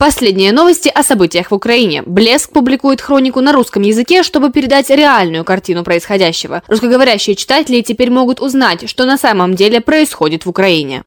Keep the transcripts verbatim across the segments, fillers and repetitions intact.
Последние новости о событиях в Украине. Блеск публикует хронику на русском языке, чтобы передать реальную картину происходящего. Русскоговорящие читатели теперь могут узнать, что на самом деле происходит в Украине.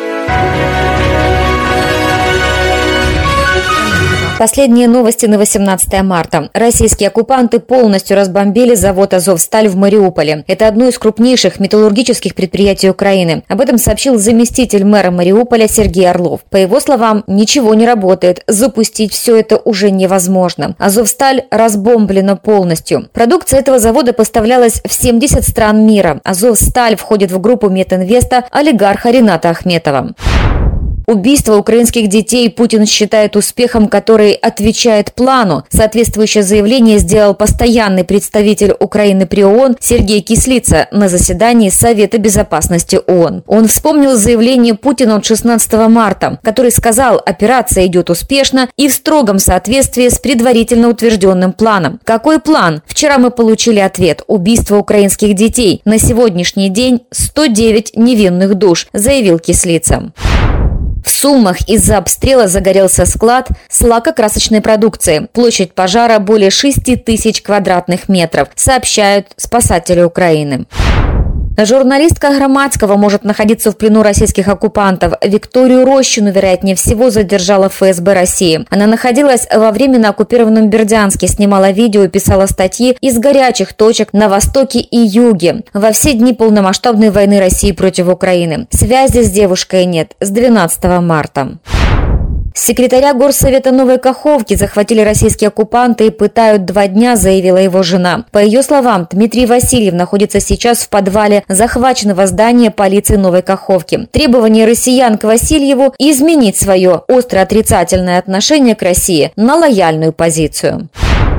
Последние новости на восемнадцатое марта. Российские оккупанты полностью разбомбили завод «Азовсталь» в Мариуполе. Это одно из крупнейших металлургических предприятий Украины. Об этом сообщил заместитель мэра Мариуполя Сергей Орлов. По его словам, ничего не работает, запустить все это уже невозможно. «Азовсталь» разбомблена полностью. Продукция этого завода поставлялась в семьдесят стран мира. «Азовсталь» входит в группу Метинвеста олигарха Рината Ахметова. Убийство украинских детей Путин считает успехом, который отвечает плану. Соответствующее заявление сделал постоянный представитель Украины при ООН Сергей Кислица на заседании Совета безопасности ООН. Он вспомнил заявление Путина от шестнадцатого марта, который сказал, операция идет успешно и в строгом соответствии с предварительно утвержденным планом. Какой план? Вчера мы получили ответ. Убийство украинских детей. На сегодняшний день сто девять невинных душ, заявил Кислица. В Сумах из-за обстрела загорелся склад с лакокрасочной продукцией. Площадь пожара более шести тысяч квадратных метров, сообщают спасатели Украины. Журналистка Громадского может находиться в плену российских оккупантов. Викторию Рощину, вероятнее всего, задержала эф эс бэ России. Она находилась во временно оккупированном Бердянске, снимала видео и писала статьи из горячих точек на востоке и юге во все дни полномасштабной войны России против Украины. Связи с девушкой нет с двенадцатого марта. Секретаря Горсовета Новой Каховки захватили российские оккупанты и пытают два дня, заявила его жена. По ее словам, Дмитрий Васильев находится сейчас в подвале захваченного здания полиции Новой Каховки. Требование россиян к Васильеву – изменить свое остро отрицательное отношение к России на лояльную позицию.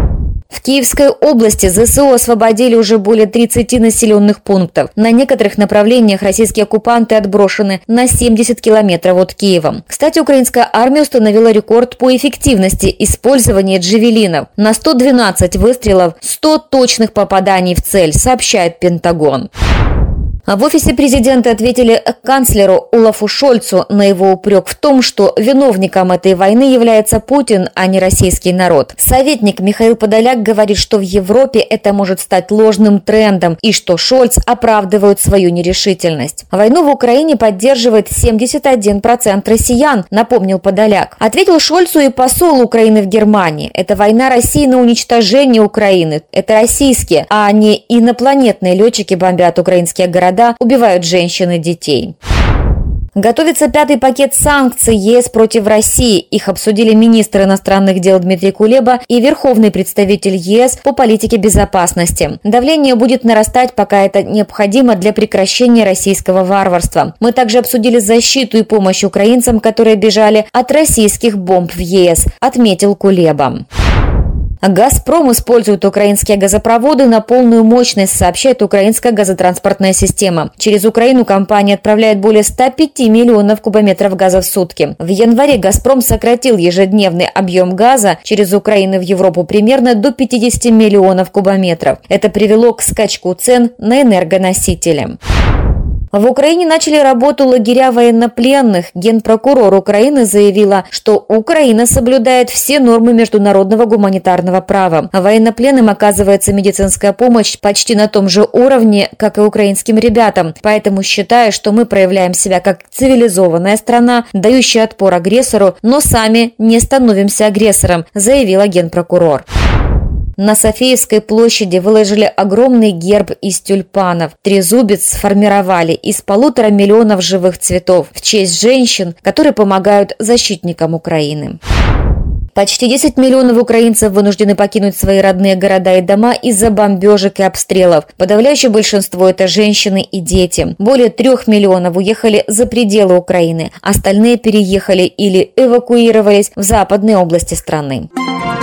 В Киевской области зэ эс о освободили уже более тридцати населенных пунктов. На некоторых направлениях российские оккупанты отброшены на семьдесят километров от Киева. Кстати, украинская армия установила рекорд по эффективности использования джавелинов. На сто двенадцать выстрелов сто точных попаданий в цель, сообщает Пентагон. В офисе президента ответили канцлеру Олафу Шольцу на его упрек в том, что виновником этой войны является Путин, а не российский народ. Советник Михаил Подоляк говорит, что в Европе это может стать ложным трендом и что Шольц оправдывает свою нерешительность. Войну в Украине поддерживает семьдесят один процент россиян, напомнил Подоляк. Ответил Шольцу и посол Украины в Германии. Это война России на уничтожение Украины. Это российские, а не инопланетные летчики бомбят украинские города, убивают женщин и детей. Готовится пятый пакет санкций ЕС против России. Их обсудили министр иностранных дел Дмитрий Кулеба и верховный представитель ЕС по политике безопасности. Давление будет нарастать, пока это необходимо для прекращения российского варварства. Мы также обсудили защиту и помощь украинцам, которые бежали от российских бомб в ЕС, отметил Кулеба. «Газпром» использует украинские газопроводы на полную мощность, сообщает украинская газотранспортная система. Через Украину компания отправляет более ста пяти миллионов кубометров газа в сутки. В январе «Газпром» сократил ежедневный объем газа через Украину в Европу примерно до пятидесяти миллионов кубометров. Это привело к скачку цен на энергоносители. В Украине начали работу лагеря военнопленных. Генпрокурор Украины заявила, что Украина соблюдает все нормы международного гуманитарного права. Военнопленным оказывается медицинская помощь почти на том же уровне, как и украинским ребятам. Поэтому считаю, что мы проявляем себя как цивилизованная страна, дающая отпор агрессору, но сами не становимся агрессором, заявила генпрокурор. На Софиевской площади выложили огромный герб из тюльпанов. Трезубец сформировали из полутора миллионов живых цветов в честь женщин, которые помогают защитникам Украины. Почти десять миллионов украинцев вынуждены покинуть свои родные города и дома из-за бомбежек и обстрелов. Подавляющее большинство – это женщины и дети. Более трех миллионов уехали за пределы Украины. Остальные переехали или эвакуировались в западные области страны.